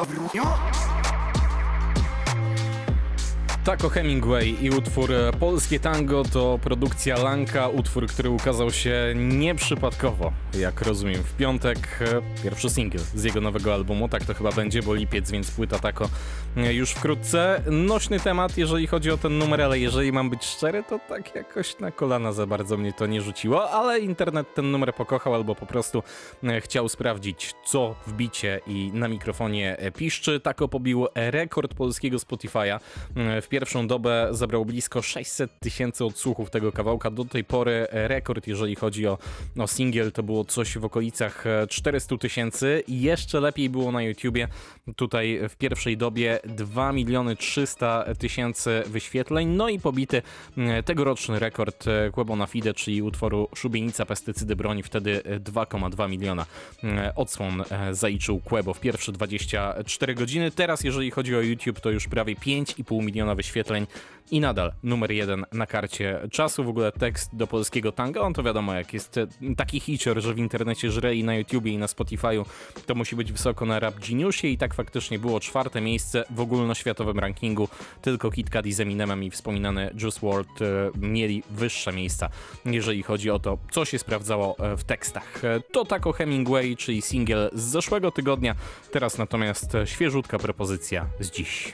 Taco Hemingway i utwór Polskie Tango to produkcja Lanka, utwór, który ukazał się nieprzypadkowo, jak rozumiem, w piątek. Pierwszy singiel z jego nowego albumu, tak to chyba będzie, bo lipiec, więc płyta Taco już wkrótce. Nośny temat, jeżeli chodzi o ten numer, ale jeżeli mam być szczery, to tak jakoś na kolana za bardzo mnie to nie rzuciło, ale internet ten numer pokochał albo po prostu chciał sprawdzić, co w bicie i na mikrofonie piszczy. Taco pobił rekord polskiego Spotify'a. W pierwszą dobę zebrał blisko 600 000 odsłuchów tego kawałka. Do tej pory rekord, jeżeli chodzi o singiel, to było coś w okolicach 400 000 i jeszcze lepiej było na YouTubie. Tutaj w pierwszej dobie 2 300 000 wyświetleń, no i pobity tegoroczny rekord Quebo na Fide, czyli utworu Szubienica, Pestycydy, Broń. Wtedy 2,2 miliona odsłon zaliczył Quebo w pierwsze 24 godziny. Teraz, jeżeli chodzi o YouTube, to już prawie 5,5 miliona wyświetleń i nadal numer 1 na karcie czasu. W ogóle tekst do polskiego tanga, on to wiadomo, jak jest taki hicior, że w internecie żre i na YouTubie i na Spotify'u, to musi być wysoko na Rap Geniusie i tak faktycznie było 4. miejsce w ogólnoświatowym rankingu. Tylko Kid Cudi z Eminemem i wspominany Juice WRLD mieli wyższe miejsca, jeżeli chodzi o to, co się sprawdzało w tekstach. To Taco Hemingway, czyli singiel z zeszłego tygodnia. Teraz natomiast świeżutka propozycja z dziś.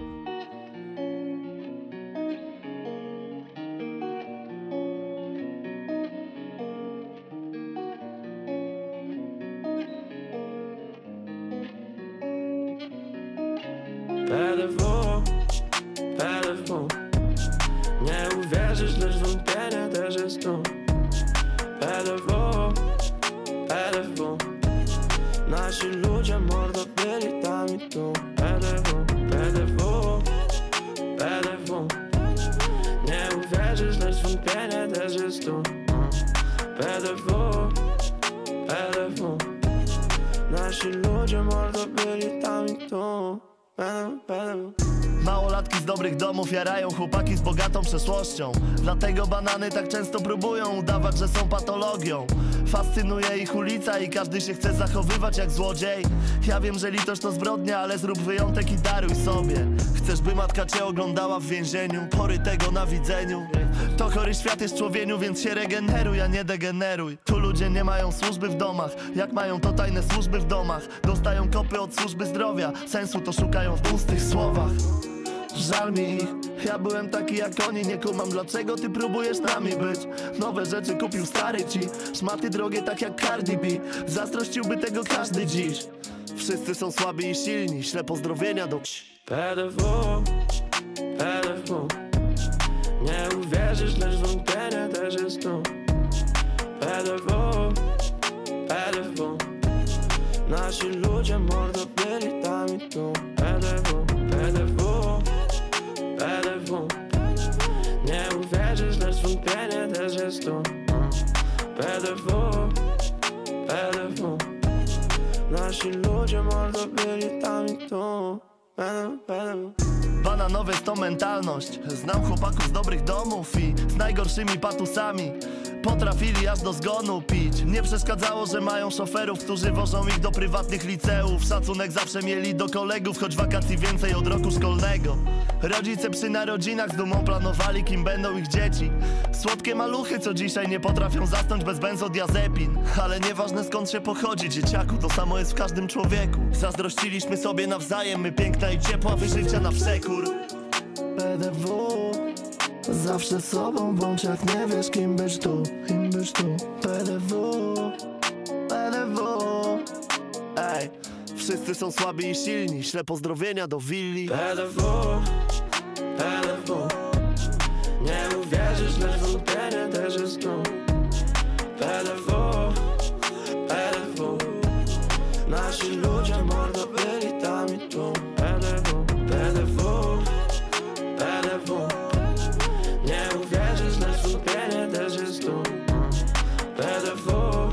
PLW, nie uwierzysz, lecz wątpienia też jest tu. PLW, Nasi ludzie mordo byli tam i tu. PDW, PDW, PDW. Nie uwierzysz, lecz wątpienie też jest tu. PDW, PDW. Nasi ludzie mordo byli tam i tu. PDW, PDW. Małolatki z dobrych domów jarają chłopaki z bogatą przeszłością. Dlatego banany tak często próbują udawać, że są patologią. Fascynuje ich ulica i każdy się chce zachowywać jak złodziej. Ja wiem, że litość to zbrodnia, ale zrób wyjątek i daruj sobie. Chcesz, by matka cię oglądała w więzieniu, pory tego na widzeniu. To chory świat jest człowieniu, więc się regeneruj, a nie degeneruj. Tu ludzie nie mają służby w domach, jak mają to tajne służby w domach. Dostają kopy od służby zdrowia, sensu to szukają w pustych słowach. Żal mi ich, ja byłem taki jak oni. Nie kumam, dlaczego ty próbujesz nami być. Nowe rzeczy kupił stary ci, szmaty drogie tak jak Cardi B. Zazdrościłby tego każdy dziś. Wszyscy są słabi i silni, śle pozdrowienia do PDW, PDW. Nie uwierzysz, lecz wątpienie też jest tu. PDW, PDW. Nasi ludzie mordo byli tam i tu. PDW, PDW, PDW. Nie uwierzysz, lecz wątpienie też jest tu. PDW, PDW. Nasi ludzie mordo byli tam i tu. PDW, PDW. Bananowe jest to mentalność. Znam chłopaków z dobrych domów i z najgorszymi patusami. Potrafili aż do zgonu pić. Nie przeszkadzało, że mają szoferów, którzy wożą ich do prywatnych liceów. Szacunek zawsze mieli do kolegów, choć wakacji więcej od roku szkolnego. Rodzice przy narodzinach z dumą planowali, kim będą ich dzieci. Słodkie maluchy, co dzisiaj nie potrafią zasnąć bez benzodiazepin. Ale nieważne skąd się pochodzi, dzieciaku, to samo jest w każdym człowieku. Zazdrościliśmy sobie nawzajem, my piękna i ciepła, wy życia na przekór. PDW, zawsze sobą bądź, jak nie wiesz kim byś tu, kim byś tu. PDW, PDW. Ej, wszyscy są słabi i silni, śle pozdrowienia do willi. PDW, PDW. Nie uwierzysz, lecz wątpienie też jest tu. PDW, PDW. Nasi ludzie mordo byli tam i tu. PDW, PDW, PDW. Nie uwierzysz, lecz wątpienie też jest tu. PDW,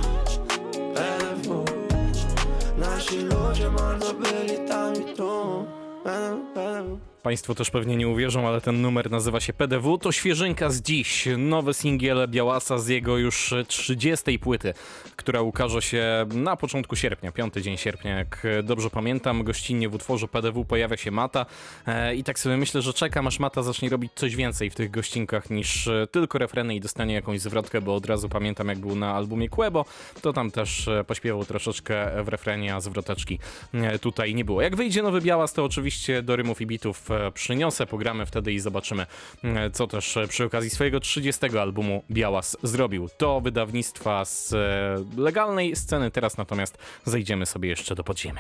PDW. Nasi ludzie mordo byli tam i tu. PDW, PDW. Państwo też pewnie nie uwierzą, ale ten numer nazywa się PDW. To świeżynka z dziś. Nowy singiel Białasa z jego już 30. płyty, która ukaże się na początku sierpnia, 5 dzień sierpnia, jak dobrze pamiętam. Gościnnie w utworze PDW pojawia się Mata i tak sobie myślę, że czekam, aż Mata zacznie robić coś więcej w tych gościnkach niż tylko refreny i dostanie jakąś zwrotkę, bo od razu pamiętam, jak był na albumie Quebo, to tam też pośpiewał troszeczkę w refrenie, a zwroteczki tutaj nie było. Jak wyjdzie nowy Białas, to oczywiście do rymów i bitów przyniosę, pogramy wtedy i zobaczymy, co też przy okazji swojego 30. albumu Białas zrobił. To wydawnictwa z legalnej sceny, teraz natomiast zejdziemy sobie jeszcze do podziemia.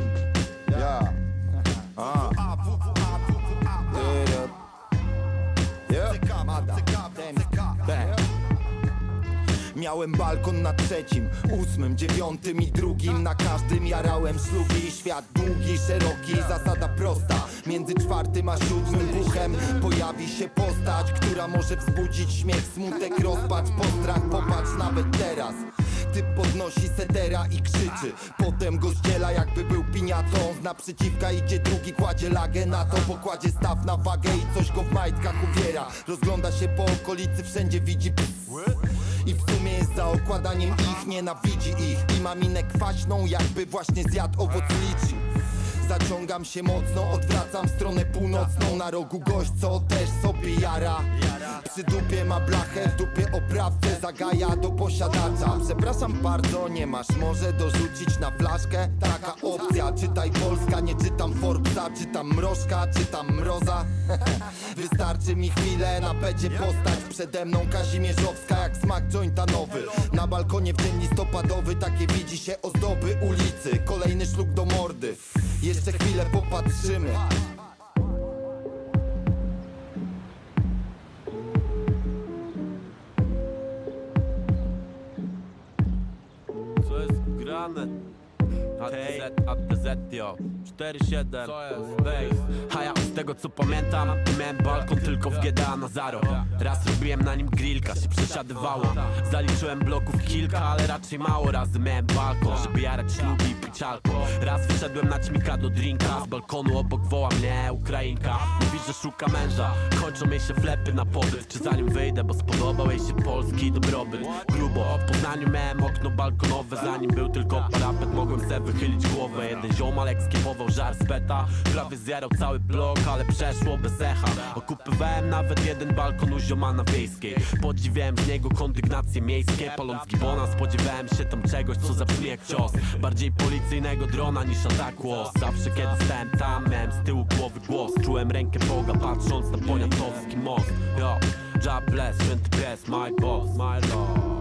Miałem balkon na 3., 8., 9. i 2. Na każdym jarałem szlugi. Świat długi, szeroki, zasada prosta. Między 4. a 7. buchem pojawi się postać, która może wzbudzić śmiech, smutek, rozpacz, postrach. Popatrz nawet teraz. Typ podnosi sedera i krzyczy, potem go zdziela jakby był piniatą. Z naprzeciwka idzie drugi, kładzie lagę na to, pokładzie staw na wagę i coś go w majtkach uwiera. Rozgląda się po okolicy, wszędzie widzi i w sumie jest za okładaniem ich, nienawidzi ich i ma minę kwaśną, jakby właśnie zjadł owoc liczy. Zaciągam się mocno, odwracam w stronę północną. Na rogu gość, co też sobie jara. Przy dupie ma blachę, w dupie oprawcę zagaja do posiadacza. Przepraszam bardzo, nie masz może dorzucić na flaszkę? Taka opcja, czytaj Polska, nie czytam Forbesa. Czytam Mrożka, czytam Mroza. Wystarczy mi chwilę, na pecie postać przede mną Kazimierzowska jak smak jointa nowy. Na balkonie w dzień listopadowy takie widzi się ozdoby ulicy. Kolejny szluk do mordy. Jeszcze chwilę popatrzymy. Co jest grane? ATZ, yo 4-7, bass. A ja z tego co pamiętam, miałem balkon tylko w GTA na Zaro. Raz robiłem na nim grillka, się przesiadywało. Zaliczyłem bloków kilka, ale raczej mało razy miałem balkon, żeby jarać ślubi i pić alkohol. Raz wyszedłem na ćmika do drinka, z balkonu obok woła mnie Ukrainka. Mówi, że szuka męża, kończą jej się flepy na pobyt. Czy zanim wyjdę, bo spodobał jej się polski dobrobyt. Grubo, w Poznaniu miałem okno balkonowe, zanim był tylko parapet, mogłem se wychylić głowę. Jeden ziomal ekskiepował żar z beta, prawie zjarał cały blok, ale przeszło bez echa. Okupywałem nawet jeden balkon u ziomana wiejskiej. Podziwiałem z niego kondygnacje miejskie, paląc gibona spodziewałem się tam czegoś, co zabrzmi jak cios. Bardziej policyjnego drona niż ataku os. Zawsze kiedy stałem tam, miałem z tyłu głowy głos. Czułem rękę Boga, patrząc na poniatowski most. Yo, God bless, święty pies, my boss, my lord.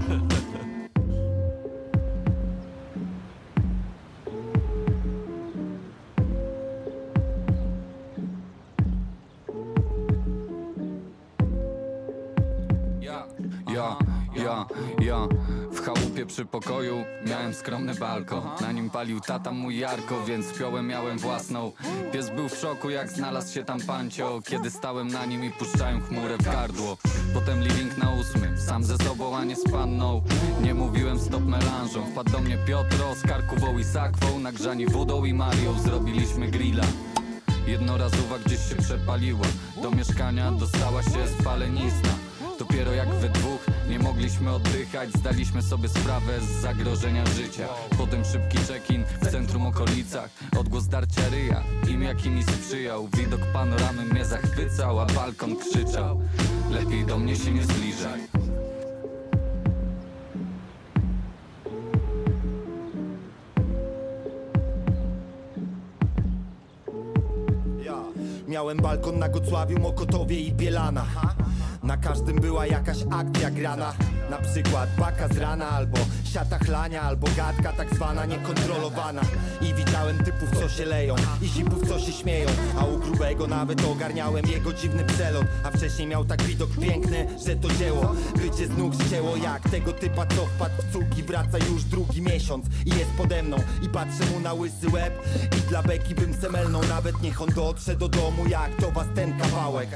Ja w chałupie przy pokoju miałem skromny balkon. Na nim palił tata mój Jarko, więc piołę miałem własną. Pies był w szoku jak znalazł się tam pancio, kiedy stałem na nim i puszczałem chmurę w gardło. Potem living na 8, sam ze sobą a nie z panną. Nie mówiłem stop melanżą. Wpadł do mnie Piotro z karkową i sakwą, nagrzani wodą i Marią zrobiliśmy grilla. Jednorazowa gdzieś się przepaliła, do mieszkania dostała się spalenizna. Dopiero jak we dwóch nie mogliśmy oddychać, zdaliśmy sobie sprawę z zagrożenia życia. Potem szybki check-in w centrum okolicach, odgłos darcia ryja, im jaki mi sprzyjał. Widok panoramy mnie zachwycał, a balkon krzyczał: lepiej do mnie się nie zbliżaj. Miałem balkon na Gocławiu, Mokotowie i Bielana. Na każdym była jakaś akcja grana. Na przykład baka z rana, albo siata chlania, albo gadka tak zwana niekontrolowana. I widziałem typów co się leją i zipów co się śmieją, a u grubego nawet ogarniałem jego dziwny przelot. A wcześniej miał tak widok piękny, że to dzieło bycie z nóg zcięło, jak tego typa co wpadł w cuk i wraca już drugi miesiąc i jest pode mną. I patrzę mu na łysy łeb i dla beki bym semelnął, nawet niech on dotrze do domu jak do was ten kawałek.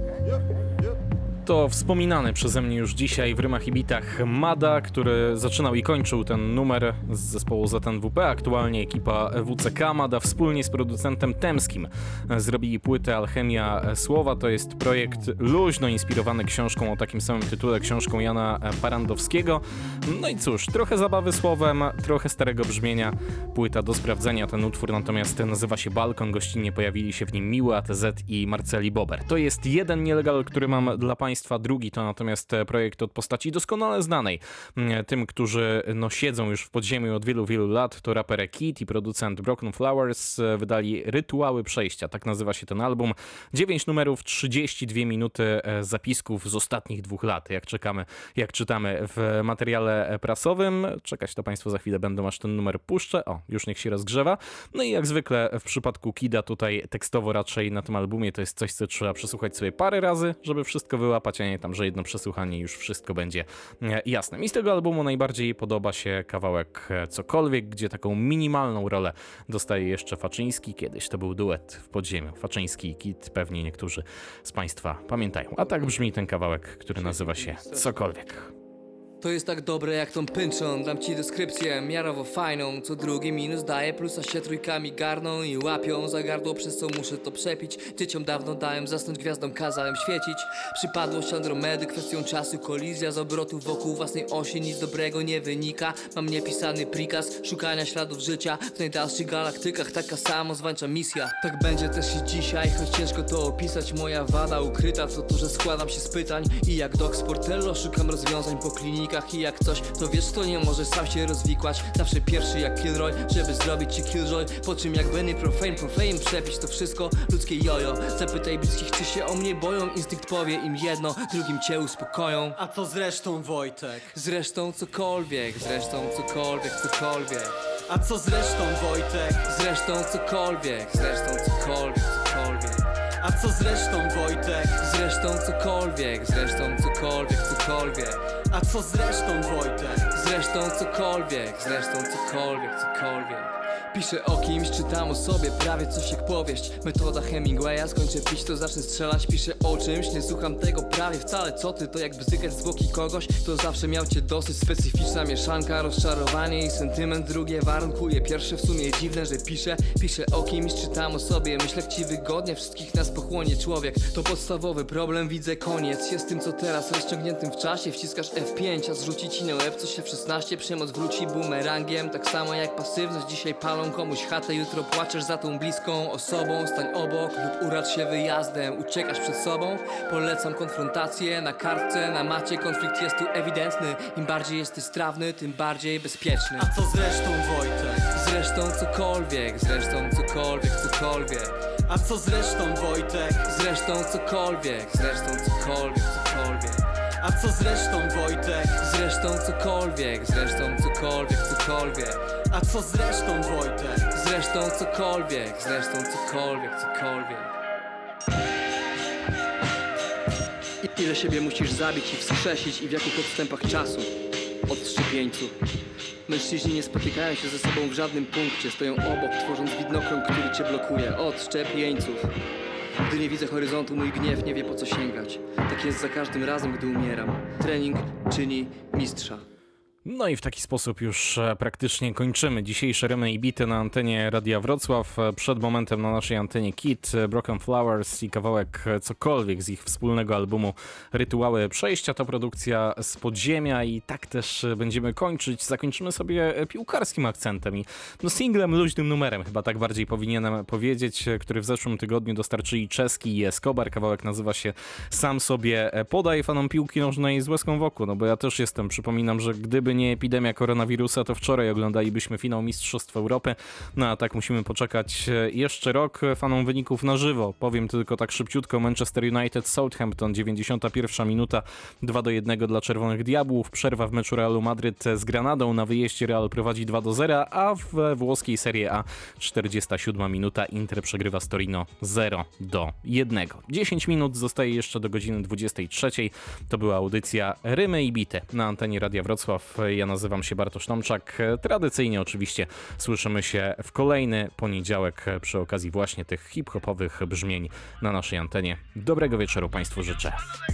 To wspominany przeze mnie już dzisiaj w Rymach i Bitach Mada, który zaczynał i kończył ten numer z zespołu ZNWP. Aktualnie ekipa WCK Mada wspólnie z producentem Temskim zrobili płytę Alchemia Słowa. To jest projekt luźno inspirowany książką o takim samym tytule, książką Jana Parandowskiego. No i cóż, trochę zabawy słowem, trochę starego brzmienia. Płyta do sprawdzenia. Ten utwór natomiast nazywa się Balkon. Gościnnie pojawili się w nim Miły, ATZ i Marceli Bober. To jest jeden nielegal, który mam dla Państwa. Drugi to natomiast projekt od postaci doskonale znanej tym, którzy siedzą już w podziemiu od wielu, wielu lat. To raper Kid i producent Broken Flowers wydali Rytuały Przejścia. Tak nazywa się ten album. 9 numerów, 32 minuty zapisków z ostatnich 2 lat. Jak czytamy w materiale prasowym. Czekać to Państwo za chwilę będą, aż ten numer puszczę. O, już niech się rozgrzewa. No i jak zwykle w przypadku Kida tutaj tekstowo raczej na tym albumie to jest coś, co trzeba przesłuchać sobie parę razy, żeby wszystko wyłapać, a nie tam, że jedno przesłuchanie już wszystko będzie jasne. Mi z tego albumu najbardziej podoba się kawałek Cokolwiek, gdzie taką minimalną rolę dostaje jeszcze Faczyński. Kiedyś to był duet w podziemiu. Faczyński i Kid, pewnie niektórzy z Państwa pamiętają. A tak brzmi ten kawałek, który nazywa się Cokolwiek. To jest tak dobre jak tą pynczą. Dam ci deskrypcję miarowo fajną. Co drugi minus daje plusa, się trójkami garną i łapią za gardło, przez co muszę to przepić. Dzieciom dawno dałem zasnąć, gwiazdom kazałem świecić. Przypadłość Andromedy, kwestią czasu kolizja z obrotów wokół własnej osi. Nic dobrego nie wynika. Mam niepisany prikaz szukania śladów życia w najdalszych galaktykach. Taka samozwańcza misja. Tak będzie też i dzisiaj, choć ciężko to opisać. Moja wada ukryta, co tu, że składam się z pytań. I jak Doc Sportello szukam rozwiązań po klinikach. I jak coś, to wiesz, to nie może sam się rozwikłać. Zawsze pierwszy jak Kilroy, żeby zrobić ci killjoy. Po czym jak Benny Profane przepić to wszystko ludzkie jojo. Zapytaj bliskich, czy się o mnie boją. Instynkt powie im jedno, drugim cię uspokoją. A co zresztą, Wojtek? Zresztą cokolwiek, zresztą cokolwiek, cokolwiek. A co zresztą, Wojtek? Zresztą cokolwiek, zresztą cokolwiek, cokolwiek. A co zresztą, Wojtek? Zresztą cokolwiek, zresztą cokolwiek, cokolwiek. A co zresztą, Wojtek? Zresztą cokolwiek, zresztą cokolwiek, cokolwiek. Piszę o kimś, czytam o sobie, prawie coś jak powieść. Metoda Hemingwaya, skończę pić to zacznę strzelać. Piszę o czymś, nie słucham tego prawie wcale. Co ty, to jak bzykać zwłoki kogoś, kto zawsze miał cię dosyć. Specyficzna mieszanka, rozczarowanie i sentyment. Drugie warunkuje pierwsze, w sumie dziwne, że piszę o kimś, czytam o sobie. Myślę jak ci wygodnie, wszystkich nas pochłonie człowiek. To podstawowy problem, widzę koniec. Jest tym co teraz, rozciągniętym w czasie. Wciskasz F5, a zrzuci ci na łeb coś się w 16. Przemoc wróci bumerangiem, tak samo jak pasywność. Dzisiaj palą komuś chatę, jutro płaczesz za tą bliską osobą. Stań obok lub uracz się wyjazdem. Uciekasz przed sobą, polecam konfrontację. Na kartce, na macie konflikt jest tu ewidentny. Im bardziej jesteś strawny, tym bardziej bezpieczny. A co zresztą, Wojtek? Zresztą cokolwiek, zresztą cokolwiek, cokolwiek. A co zresztą, Wojtek? Zresztą cokolwiek, zresztą cokolwiek, cokolwiek. A co zresztą, Wojtek? Zresztą cokolwiek, zresztą cokolwiek, cokolwiek. A co zresztą, Wojtek? Zresztą cokolwiek, zresztą cokolwiek, cokolwiek. Ile siebie musisz zabić i wskrzesić i w jakich odstępach czasu? Od szczepieńców. Mężczyźni nie spotykają się ze sobą w żadnym punkcie. Stoją obok, tworząc widnokrąg, który cię blokuje. Od szczepieńców. Gdy nie widzę horyzontu, mój gniew nie wie po co sięgać. Tak jest za każdym razem, gdy umieram. Trening czyni mistrza. No i w taki sposób już praktycznie kończymy dzisiejsze Rymy i Bity na antenie Radia Wrocław. Przed momentem na naszej antenie Kid, Broken Flowers i kawałek Cokolwiek z ich wspólnego albumu Rytuały Przejścia. To produkcja z podziemia i tak też będziemy kończyć. Zakończymy sobie piłkarskim akcentem i singlem, luźnym numerem, chyba tak bardziej powinienem powiedzieć, który w zeszłym tygodniu dostarczyli Czeski i Escobar. Kawałek nazywa się Sam sobie podaj. Fanom piłki nożnej z łezką wokół, no bo ja też jestem. Przypominam, że gdyby nie epidemia koronawirusa, to wczoraj oglądalibyśmy finał Mistrzostw Europy. No a tak musimy poczekać jeszcze rok. Fanom wyników na żywo powiem tylko tak szybciutko. Manchester United Southampton, 91 minuta, 2-1 dla Czerwonych Diabłów. Przerwa w meczu Realu Madryt z Granadą. Na wyjeździe Real prowadzi 2-0, a w włoskiej Serie A 47 minuta Inter przegrywa z Torino 0-1. 10 minut zostaje jeszcze do godziny 23. To była audycja Rymy i Bite na antenie Radia Wrocław. Ja nazywam się Bartosz Tomczak. Tradycyjnie oczywiście słyszymy się w kolejny poniedziałek przy okazji właśnie tych hip-hopowych brzmień na naszej antenie. Dobrego wieczoru Państwu życzę.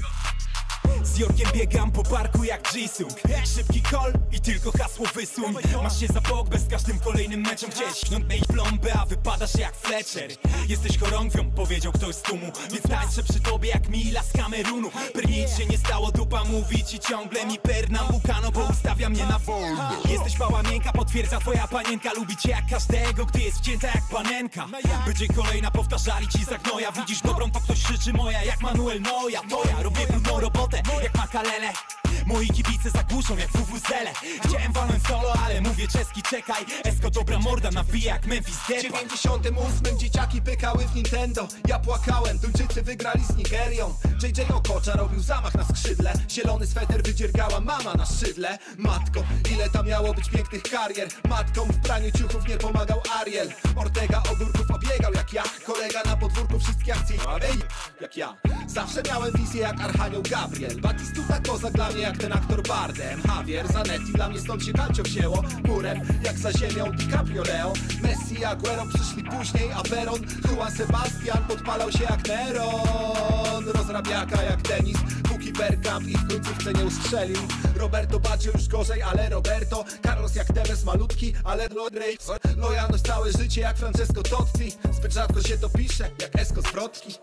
Z Jorkiem biegam po parku jak Jisung. Szybki call i tylko hasło wysuń. Masz się za bok, bez każdym kolejnym meczem chcieć śnąć plombę, a wypadasz jak Fletcher. Jesteś chorągwią, powiedział ktoś z tłumu, więc tańczę przy tobie jak Mila z Kamerunu. Nic się nie stało, dupa mówi ci ciągle mi pernambukano, bo ustawia mnie na wolno. Jesteś mała miękka, potwierdza twoja panienka. Lubi cię jak każdego, gdy jest wcięta jak panenka. Będzie kolejna, powtarzali ci za gnoja. Widzisz dobrą, to ktoś krzyczy moja, jak Manuel Neuer. To ja robię brudną robotę jak Makalele. Moi kibice zagłuszą jak WWZele. Chciałem walnąć solo, ale mówię czeski czekaj. Esko dobra morda nawija jak Memphis Depay. W 98 dzieciaki pykały w Nintendo. Ja płakałem, Duńczycy wygrali z Nigerią. JJ Okocza robił zamach na skrzydle. Zielony sweter wydziergała mama na szydle. Matko, ile tam miało być pięknych karier. Matkom w praniu ciuchów nie pomagał Ariel. Ortega ogórków obiegał jak ja. Kolega na podwórku wszystkie akcje jak ja. Zawsze miałem wizję jak Archanioł Gabriel. Batistuta kozak dla mnie jak ten aktor Bardem. Javier Zanetti, dla mnie stąd się Calcio wzięło. Murem jak za ziemią DiCaprio Leo. Messi i Aguero przyszli później, a Veron Juan Sebastian podpalał się jak Neron. Rozrabiaka jak Denis, póki Bergkamp i w końcówce nie ustrzelił. Roberto Baggio już gorzej, ale Roberto. Carlos jak Tevez malutki, ale lojalność całe życie jak Francesco Totti. Zbyt rzadko się to pisze, jak Esko z Wrotki.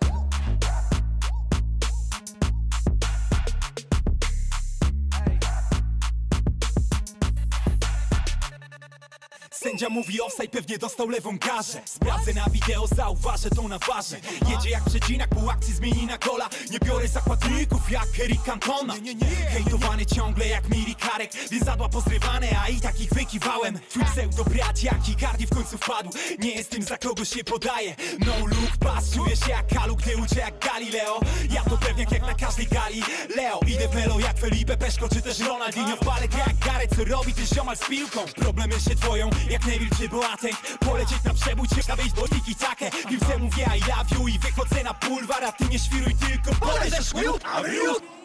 Sędzia mówi offside, pewnie dostał lewą garzę. Sprawdzę na wideo, zauważę to na warze. Jedzie jak przecinak, pół akcji zmieni na gola. Nie biorę zakładników jak Eric Cantona. Hejtowany ciągle jak Miri Karek, więc zadła pozrywane, a i tak ich wykiwałem. Twój pseudo brat jak Icardi w końcu wpadł. Nie jest tym, za kogo się podaje. No look pass, czuję się jak Kalu, gdy uczę jak Galileo. Ja to pewniak jak na każdej gali. Leo, idę w melo jak Felipe Peszko, czy też Ronaldinho. W balet jak Gareth, co robi ty ziomal z piłką. Problemy się dwoją jak Neville czy Boateng. Polecieć na przebój, czy wejść do tiki-takę. Piłce mówię I love you i wychodzę na bulwar, a ty nie świruj tylko polecisz.